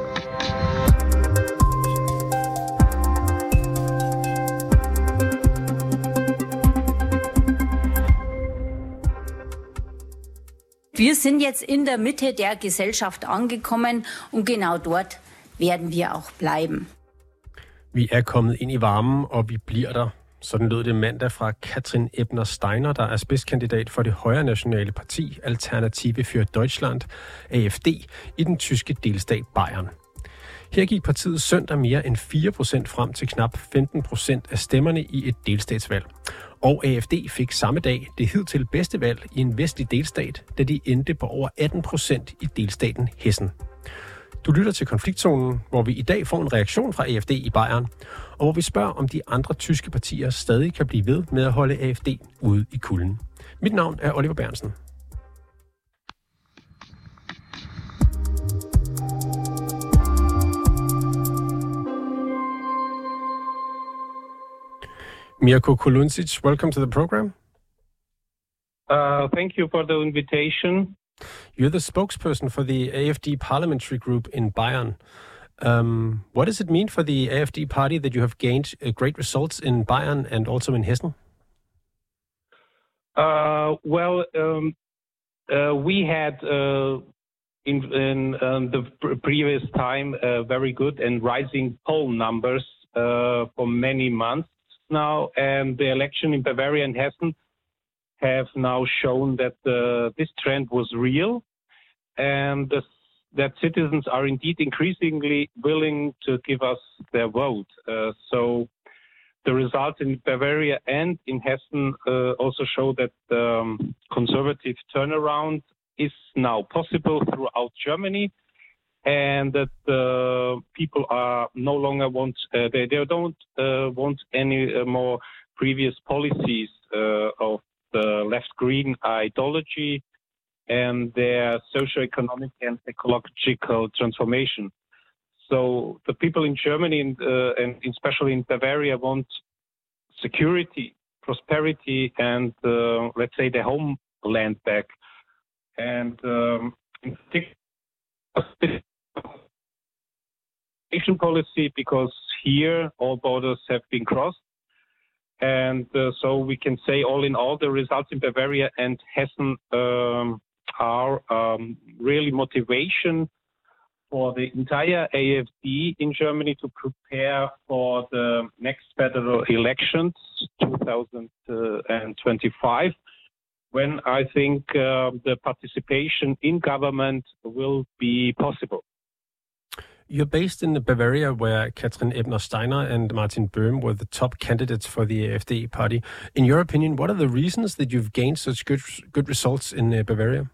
Wir sind jetzt in der Mitte der Gesellschaft angekommen, und genau dort werden wir auch bleiben. Vi er kommet ind i varmen, og vi bliver der. Sådan lød det mandag fra Katrin Ebner Steiner, der er spidskandidat for det højre nationale parti Alternative für Deutschland, AfD, i den tyske delstat Bayern. Her gik partiet søndag mere end 4% frem til knap 15% af stemmerne i et delstatsvalg. Og AfD fik samme dag det hidtil bedste valg i en vestlig delstat, da de endte på over 18% i delstaten Hessen. Du lytter til Konfliktzonen, hvor vi i dag får en reaktion fra AfD i Bayern, og hvor vi spørger, om de andre tyske partier stadig kan blive ved med at holde AfD ude i kulden. Mit navn er Oliver Bernsen. Mirko Koluncic, welcome to the program. Thank you for the invitation. You're the spokesperson for the AfD parliamentary group in Bayern. What does it mean for the AfD party that you have gained great results in Bayern and also in Hessen? We had in the previous time very good and rising poll numbers for many months now, and the election in Bavaria and Hessen have now shown that this trend was real, and that citizens are indeed increasingly willing to give us their vote. So the results in Bavaria and in Hessen also show that the conservative turnaround is now possible throughout Germany, and that people are no longer they don't want any more previous policies of the left-green ideology and their socio-economic and ecological transformation. So the people in Germany and especially in Bavaria want security, prosperity, and let's say their homeland back. And in particular, Asian policy, because here all borders have been crossed. And so we can say all in all, the results in Bavaria and Hessen are really motivation for the entire AfD in Germany to prepare for the next federal elections, 2025, when I think the participation in government will be possible. You're based in Bavaria, where Katrin Ebner Steiner and Martin Böhm were the top candidates for the AfD party. In your opinion, what are the reasons that you've gained such good results in Bavaria?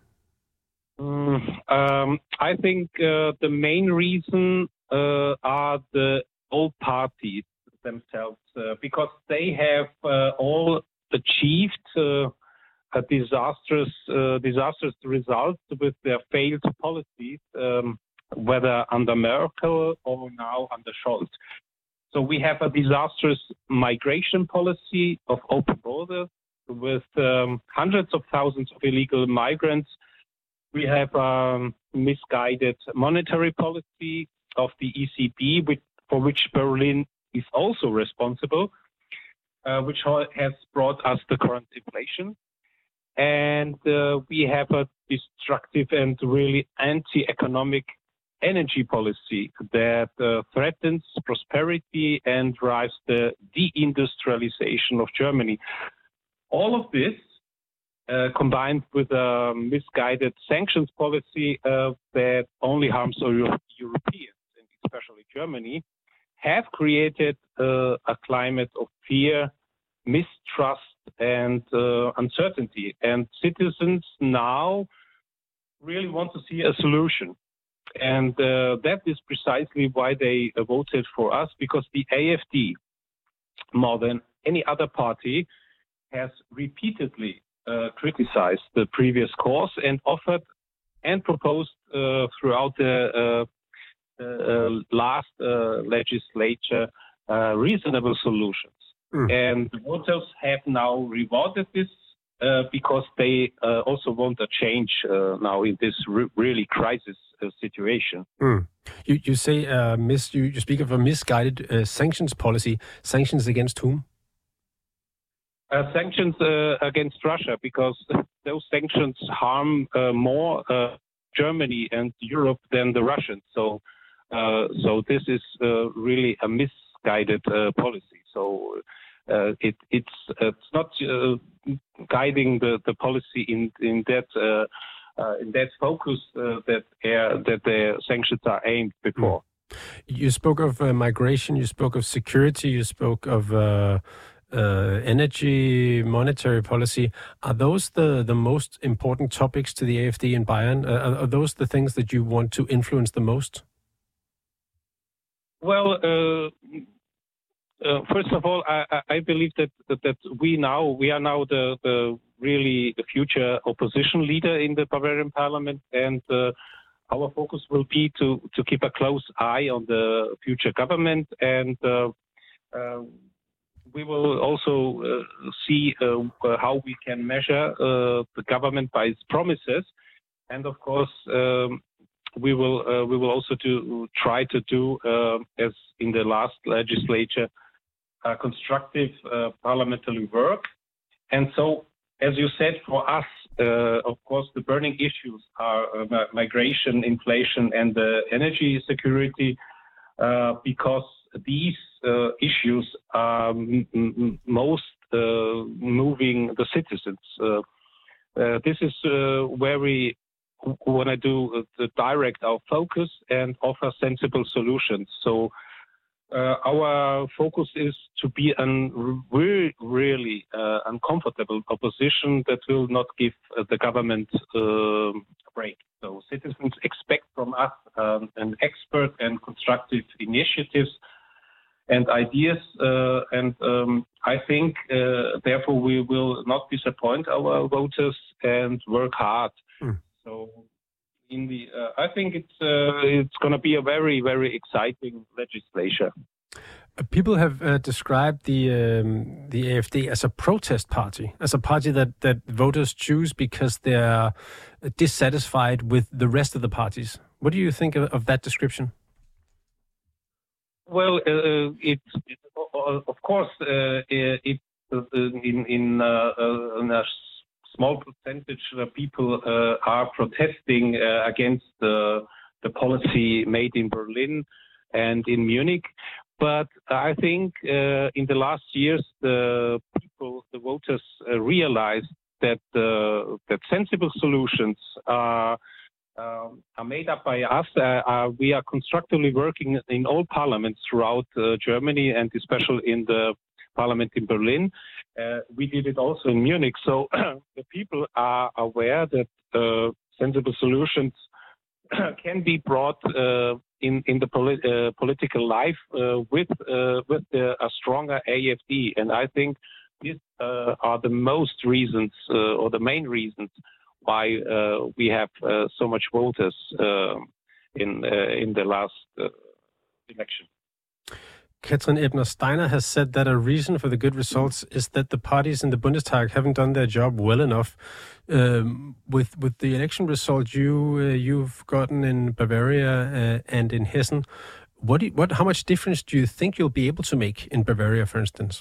I think the main reason are the old parties themselves, because they have all achieved a disastrous result with their failed policies. Whether under Merkel or now under Scholz. So we have a disastrous migration policy of open borders with hundreds of thousands of illegal migrants. We have misguided monetary policy of the ECB, for which Berlin is also responsible, which has brought us the current inflation. And we have a destructive and really anti-economic energy policy that threatens prosperity and drives the deindustrialization of Germany. All of this, combined with a misguided sanctions policy that only harms Europeans, and especially Germany, have created a climate of fear, mistrust, and uncertainty. And citizens now really want to see a solution. And that is precisely why they voted for us, because the AfD, more than any other party, has repeatedly criticized the previous course and offered and proposed throughout the last legislature reasonable solutions. And the voters have now rewarded this because they also want a change now in this really crisis situation. You say you speak of a misguided sanctions policy. Sanctions against whom? Sanctions against Russia, because those sanctions harm more Germany and Europe than the Russians. So this is really a misguided policy. So it's not guiding the policy in that focus that the sanctions are aimed before. You spoke of migration. You spoke of security. You spoke of energy, monetary policy. Are those the most important topics to the AfD in Bayern? Are those the things that you want to influence the most? Well, first of all, I believe that we are now the future opposition leader in the Bavarian Parliament, and our focus will be to keep a close eye on the future government, and we will also see how we can measure the government by its promises, and of course we will also try to do as in the last legislature constructive parliamentary work. And so, as you said, for us, of course, the burning issues are migration, inflation, and energy security, because these issues are most moving the citizens. This is where we want to do direct our focus and offer sensible solutions. So our focus is to be a really uncomfortable opposition that will not give the government a break. So citizens expect from us an expert and constructive initiatives and ideas, and I think therefore we will not disappoint our voters and work hard. So I think it's going to be a very, very exciting legislature. People have described the AfD as a protest party, as a party that voters choose because they are dissatisfied with the rest of the parties. What do you think of that description? Well, of course, in a small percentage of people are protesting against the policy made in Berlin and in Munich. But I think in the last years, the voters realized that sensible solutions are made up by us. We are constructively working in all parliaments throughout Germany, and especially in the parliament in Berlin. We did it also in Munich. So the people are aware that sensible solutions can be brought in the political life with a stronger AfD. And I think these are the most reasons or the main reasons why we have so much voters in the last election. Katrin Ebner Steiner has said that a reason for the good results is that the parties in the Bundestag haven't done their job well enough. With the election result you've gotten in Bavaria and in Hessen, how much difference do you think you'll be able to make in Bavaria, for instance?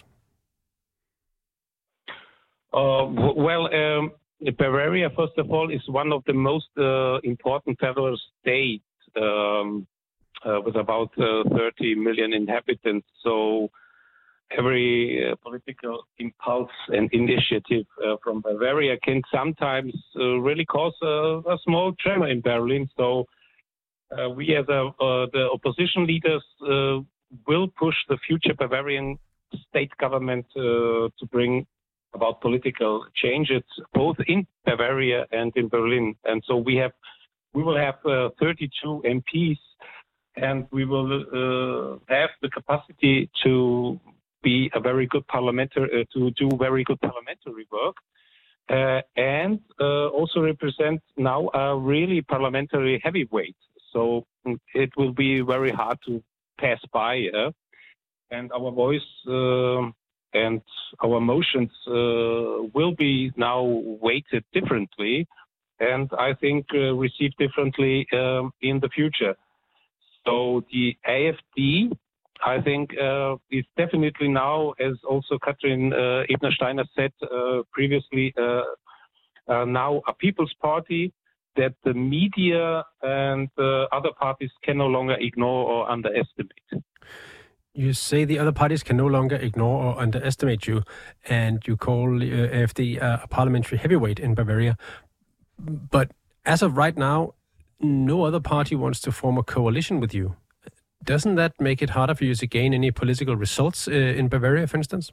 Bavaria, first of all, is one of the most important federal states. With about 30 million inhabitants. So every political impulse and initiative from Bavaria can sometimes really cause a small tremor in Berlin. So we as the opposition leaders will push the future Bavarian state government to bring about political changes both in Bavaria and in Berlin. And so we will have 32 MPs, and we will have the capacity to be a very good to do very good parliamentary work, and also represent now a really parliamentary heavyweight. So it will be very hard to pass by, and our voice and our motions will be now weighted differently, and I think received differently in the future. So the AfD, I think, is definitely now, as also Katrin Ebner-Steiner said previously, now a people's party that the media and other parties can no longer ignore or underestimate. You say the other parties can no longer ignore or underestimate you, and you call AfD a parliamentary heavyweight in Bavaria. But as of right now, no other party wants to form a coalition with you. Doesn't that make it harder for you to gain any political results in Bavaria, for instance?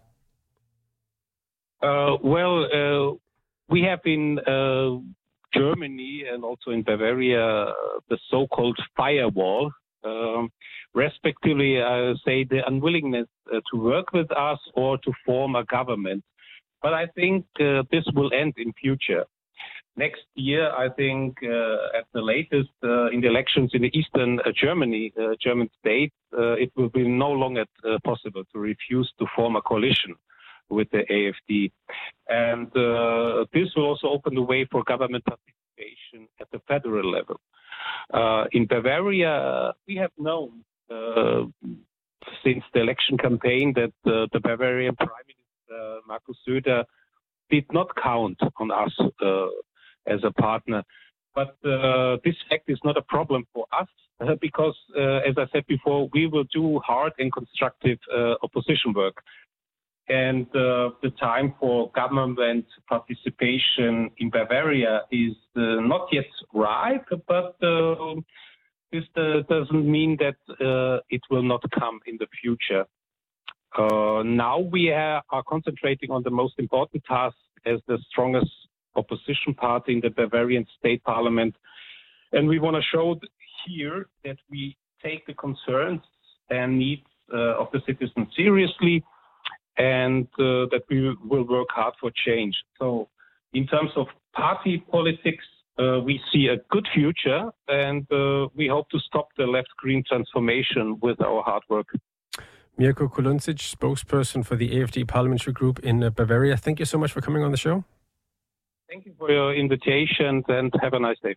We have in Germany and also in Bavaria the so-called firewall, respectively, say the unwillingness to work with us or to form a government. But I think this will end in future. Next year, I think at the latest in the elections in the eastern German states, it will be no longer possible to refuse to form a coalition with the AfD. And this will also open the way for government participation at the federal level. In Bavaria, we have known since the election campaign that the Bavarian Prime Minister Markus Söder did not count on us as a partner. But this fact is not a problem for us because, as I said before, we will do hard and constructive opposition work. And the time for government participation in Bavaria is not yet ripe, but this doesn't mean that it will not come in the future. Now we are concentrating on the most important task as the strongest opposition party in the Bavarian state parliament. And we want to show here that we take the concerns and needs of the citizens seriously, and that we will work hard for change. So in terms of party politics, we see a good future, and we hope to stop the left-green transformation with our hard work. Mirko Kulundzic, spokesperson for the AfD parliamentary group in Bavaria. Thank you so much for coming on the show. Thank you for your invitation, and have a nice day.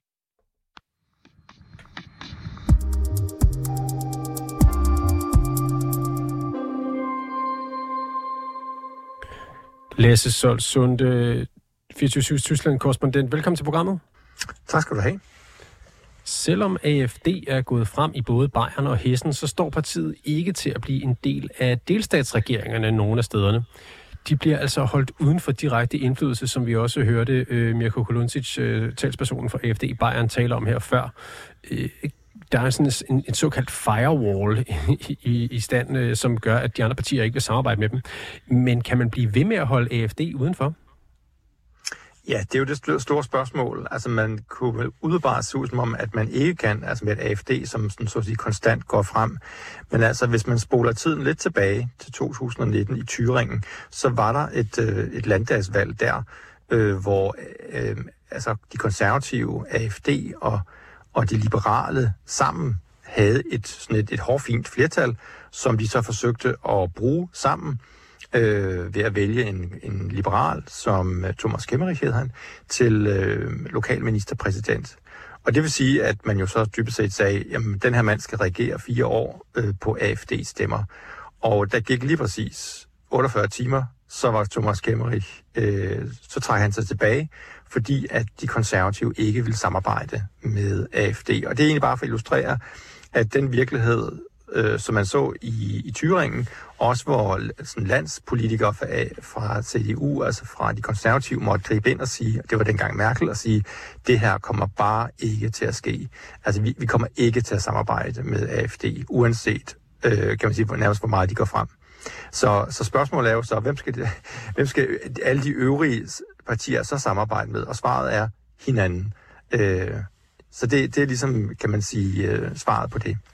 Lasse Solsund, 24/7 Tyskland-korrespondent. Velkommen til programmet. Tak skal du have. Selvom AfD er gået frem i både Bayern og Hessen, så står partiet ikke til at blive en del af delstatsregeringerne nogle af stederne. De bliver altså holdt uden for direkte indflydelse, som vi også hørte Mirko Kulundzic, talspersonen for AfD i Bayern, tale om her før. Der er sådan en såkaldt firewall i stand, som gør, at de andre partier ikke vil samarbejde med dem. Men kan man blive ved med at holde AfD udenfor? Ja, det er jo det store spørgsmål. Altså, man kunne vel udebart se ud som om, at man ikke kan, altså med et AfD, som sådan, så at sige, konstant går frem. Men altså, hvis man spoler tiden lidt tilbage til 2019 i Thüringen, så var der et landdagsvalg der, hvor altså, de konservative, AfD og de liberale sammen havde et hårfint flertal, som de så forsøgte at bruge sammen ved at vælge en liberal, som Thomas Kemmerich hed han, til lokalministerpræsident. Og det vil sige, at man jo så dybest set sagde, jamen den her mand skal regere 4 år på AfD-stemmer. Og der gik lige præcis 48 timer, så var Thomas Kemmerich, så trak han sig tilbage, fordi at de konservative ikke ville samarbejde med AfD. Og det er egentlig bare for at illustrere, at den virkelighed, som man så i Thüringen, også hvor sådan, landspolitikere fra CDU, altså fra de konservative, måtte gribe ind og sige, det var dengang Merkel, at sige, det her kommer bare ikke til at ske. Altså vi kommer ikke til at samarbejde med AfD, uanset, kan man sige, nærmest hvor meget de går frem. Så spørgsmålet er jo så, hvem skal alle de øvrige partier så samarbejde med? Og svaret er hinanden. Så det er ligesom, kan man sige, svaret på det.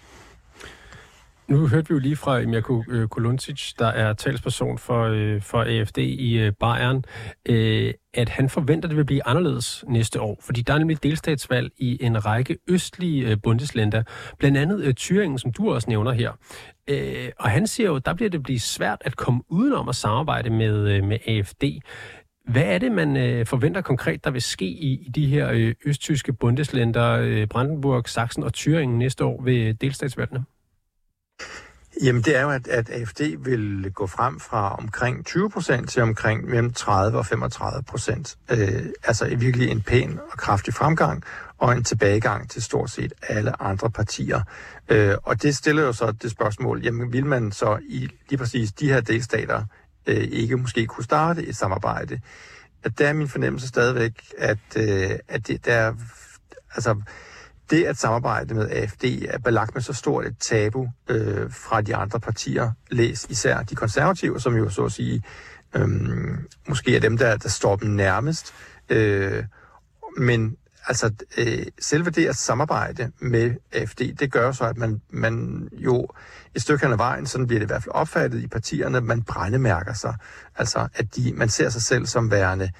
Nu hørte vi jo lige fra Mirko Kulundzic, der er talsperson for AfD i Bayern, at han forventer, at det vil blive anderledes næste år. Fordi der er nemlig delstatsvalg i en række østlige bundesländer, blandt andet Thüringen, som du også nævner her. Og han siger jo, at der bliver det blive svært at komme udenom at samarbejde med AfD. Hvad er det, man forventer konkret, der vil ske i de her østtyske bundeslænder, Brandenburg, Sachsen og Thüringen næste år ved delstatsvalgene? Jamen, det er jo, at AfD vil gå frem fra omkring 20% til omkring mellem 30 og 35%. Altså virkelig en pæn og kraftig fremgang og en tilbagegang til stort set alle andre partier. Og det stiller jo så det spørgsmål, jamen vil man så i lige præcis de her delstater ikke måske kunne starte et samarbejde? At der er min fornemmelse stadigvæk, at det der, altså det at samarbejde med AfD er belagt med så stort et tabu fra de andre partier, læs især de konservative, som jo så at sige måske er dem, der står dem nærmest. Men altså selve det at samarbejde med AfD, det gør så, at man jo et stykke hen ad vejen, sådan bliver det i hvert fald opfattet i partierne, man brændemærker sig. Altså at man ser sig selv som værende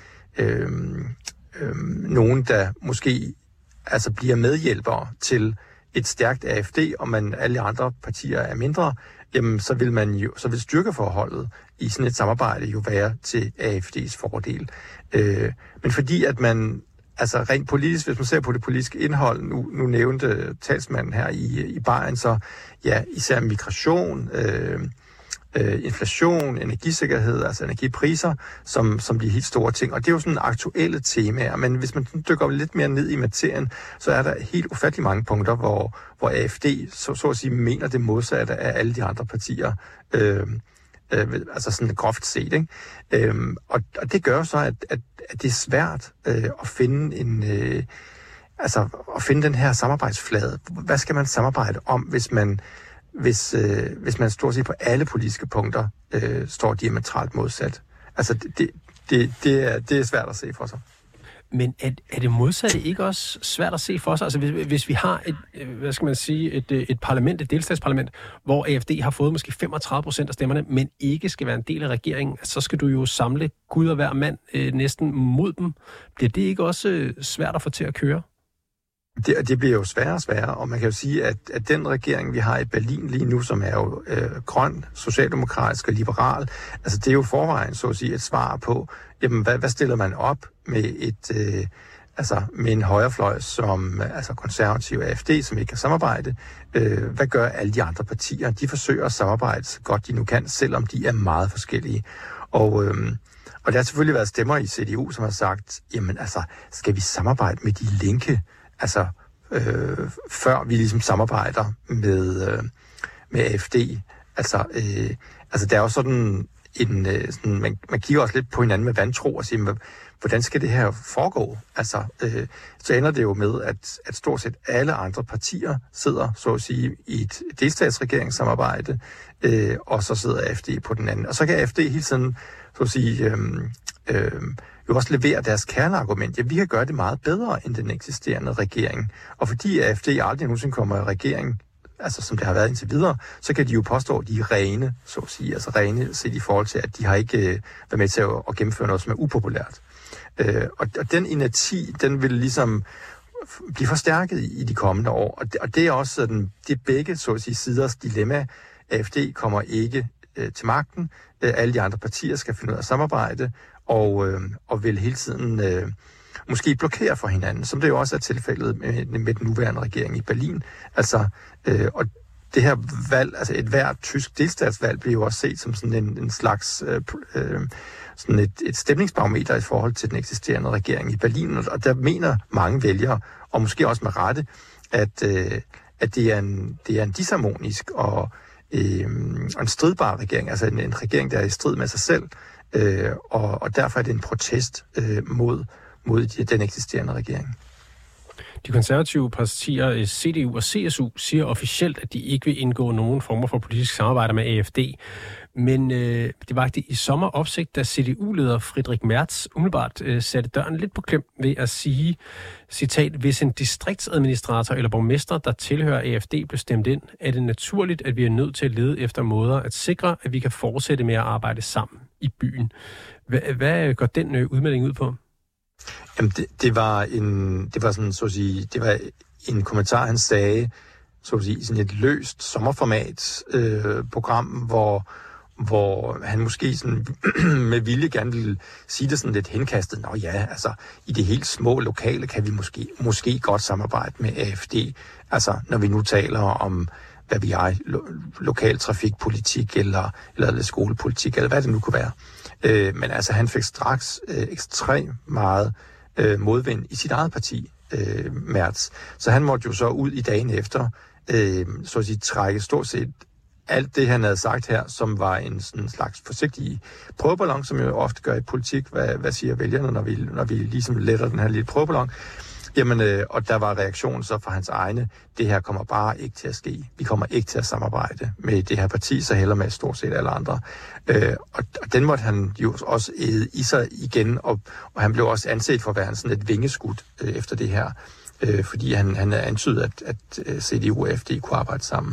nogen, der måske altså bliver medhjælpere til et stærkt AfD, og alle andre partier er mindre, jamen så vil styrkeforholdet i sådan et samarbejde jo være til AfD's fordel. Men fordi at man altså rent politisk, hvis man ser på det politiske indhold, nu nævnte talsmanden her i Bayern, så ja, især migration, inflation, energisikkerhed, altså energipriser, som de helt store ting. Og det er jo sådan aktuelle temaer, men hvis man dykker lidt mere ned i materien, så er der helt ufattelig mange punkter, hvor AfD så at sige mener det modsatte af alle de andre partier. Altså sådan groft set, ikke? Og det gør så, at det er svært at finde at finde den her samarbejdsflade. Hvad skal man samarbejde om, hvis man stort set på alle politiske punkter står diametralt modsat? Altså det er svært at se for sig. Men er det modsatte ikke også svært at se for sig? Altså hvis vi har et parlament, et delstatsparlament, hvor AfD har fået måske 35% af stemmerne, men ikke skal være en del af regeringen, så skal du jo samle Gud og hver mand næsten mod dem. Bliver det ikke også svært at få til at køre? Det bliver jo sværere og sværere, og man kan jo sige, at den regering, vi har i Berlin lige nu, som er jo grøn, socialdemokratisk og liberal, altså det er jo forvejen, så at sige, et svar på, jamen hvad stiller man op med med en højrefløj som konservativ AfD, som ikke kan samarbejde. Hvad gør alle de andre partier? De forsøger at samarbejde så godt de nu kan, selvom de er meget forskellige. Og der har selvfølgelig været stemmer i CDU, som har sagt, jamen altså, skal vi samarbejde med de linke? Altså, før vi ligesom samarbejder med AfD. Altså, der er jo sådan man kigger også lidt på hinanden med vantro og siger, hvordan skal det her foregå? Altså, så ender det jo med, at stort set alle andre partier sidder, så at sige, i et delstatsregeringssamarbejde, og så sidder AfD på den anden. Og så kan AfD hele tiden, så at sige, jo også levere deres kerneargument. Ja, vi kan gøre det meget bedre end den eksisterende regering. Og fordi AfD aldrig nogensinde kommer i regering, altså som det har været indtil videre, så kan de jo påstå, at de er rene, så at sige. Altså rene set i forhold til, at de har ikke været med til at gennemføre noget, som er upopulært. Og den inerti, den vil ligesom blive forstærket i de kommende år. Og det er også sådan, det er begge, så at sige, siders dilemma. AfD kommer ikke til magten. Alle de andre partier skal finde ud af at samarbejde, og vil hele tiden måske blokere for hinanden, som det jo også er tilfældet med den nuværende regering i Berlin. Altså, og det her valg, altså et hvert tysk delstatsvalg, bliver jo også set som sådan en slags sådan et stemningsbarometer i forhold til den eksisterende regering i Berlin. Og der mener mange vælgere, og måske også med rette, at det er en disharmonisk og en stridbar regering, altså en regering, der er i strid med sig selv, og derfor er det en protest mod den eksisterende regering. De konservative partier CDU og CSU siger officielt, at de ikke vil indgå nogen former for politisk samarbejde med AfD. Men det vakte i sommer opsigt, da CDU-leder Friedrich Merz umiddelbart satte døren lidt på klem ved at sige, citat, hvis en distriktsadministrator eller borgmester, der tilhører AfD, blev stemt ind, er det naturligt, at vi er nødt til at lede efter måder at sikre, at vi kan fortsætte med at arbejde sammen i byen. Hvad går den udmelding ud på? Jamen, det var sådan, så at sige, det var en kommentar, han sagde, så at sige, sådan et løst sommerformat program, hvor han måske sådan med vilje gerne ville sige det sådan lidt henkastet. Nå ja, altså i det helt små lokale kan vi måske godt samarbejde med AFD. Altså når vi nu taler om, hvad vi er, lokal trafikpolitik eller skolepolitik, eller hvad det nu kunne være. Men altså han fik straks ekstremt meget modvind i sit eget parti, Merz. Så han måtte jo så ud i dagen efter, så at sige, trække stort set alt det, han havde sagt her, som var en sådan slags forsigtig prøveballon, som jo ofte gør i politik. Hvad siger vælgerne, når vi ligesom letter den her lille prøveballon? Jamen, og der var reaktionen så fra hans egne, det her kommer bare ikke til at ske. Vi kommer ikke til at samarbejde med det her parti, så heller med stort set alle andre. Og den måtte han jo også æde i sig igen, og han blev også anset for at være sådan et vingeskud efter det her, fordi han antydede, at CDU og AfD kunne arbejde sammen.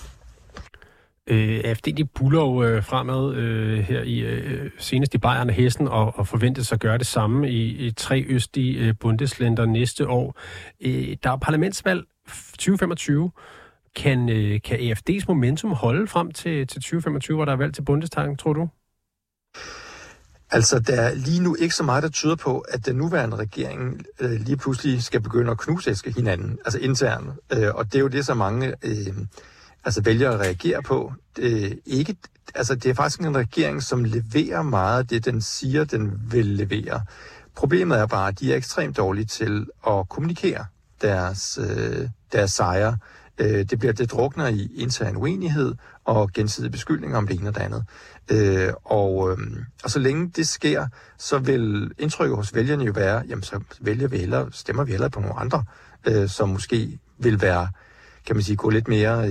AfD de buller jo fremad her i senest i Bayern og Hessen og forventes at gøre det samme i 3 østlige bundeslænder næste år. Der er parlamentsvalg 2025. Kan AfD's momentum holde frem til 2025, hvor der er valg til Bundestagen, tror du? Altså, der er lige nu ikke så meget, der tyder på, at den nuværende regering lige pludselig skal begynde at knusæske hinanden, altså internt. Og det er jo det, så mange vælgere at reagere på. Det er faktisk en regering, som leverer meget af det, den siger, den vil levere. Problemet er bare, at de er ekstremt dårlige til at kommunikere deres sejre. Det drukner i intern uenighed og gensidige beskyldninger om det ene og det andet. Og så længe det sker, så vil indtrykket hos vælgerne jo være, jamen så stemmer vi hellere på nogle andre, som måske vil være, kan man sige, gå lidt mere,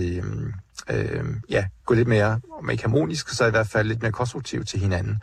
om ikke harmonisk, så i hvert fald lidt mere konstruktivt til hinanden.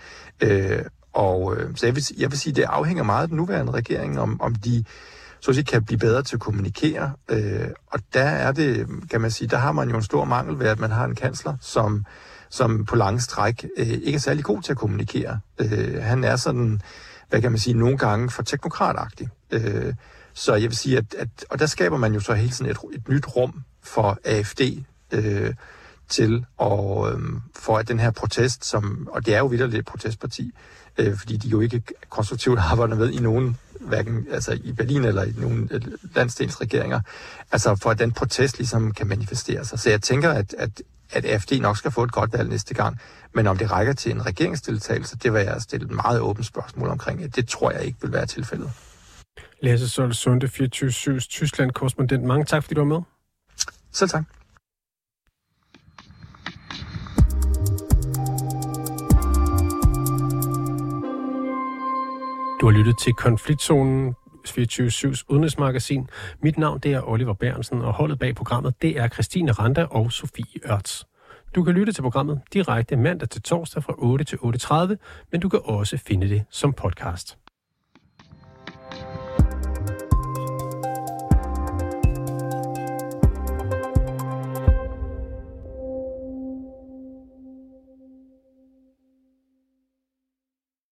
Så jeg vil sige, det afhænger meget af den nuværende regering, om de så at sige, kan blive bedre til at kommunikere. Og der er det, kan man sige, der har man jo en stor mangel ved, at man har en kansler, som på lange stræk ikke er særlig god til at kommunikere. Han er sådan, hvad kan man sige, nogle gange for teknokratagtig. Så jeg vil sige, og der skaber man jo så hele tiden et nyt rum for AfD til, og for at den her protest, og det er jo vitterligt et protestparti, fordi de jo ikke konstruktivt arbejder med i nogen, hverken altså i Berlin eller i nogen landsdelsregeringer, altså for at den protest ligesom kan manifestere sig. Så jeg tænker, at AfD nok skal få et godt valg næste gang, men om det rækker til en regeringsdeltagelse, det vil jeg stille et meget åbent spørgsmål omkring. Det tror jeg ikke vil være tilfældet. Lasse Sol Sunde, 24/7's Tyskland-korrespondent. Mange tak, fordi du var med. Selv tak. Du har lyttet til Konfliktzonen, 24/7's udenrigsmagasin. Mit navn det er Oliver Bærensen, og holdet bag programmet det er Christine Randa og Sofie Ørts. Du kan lytte til programmet direkte mandag til torsdag fra 8 til 8:30, men du kan også finde det som podcast.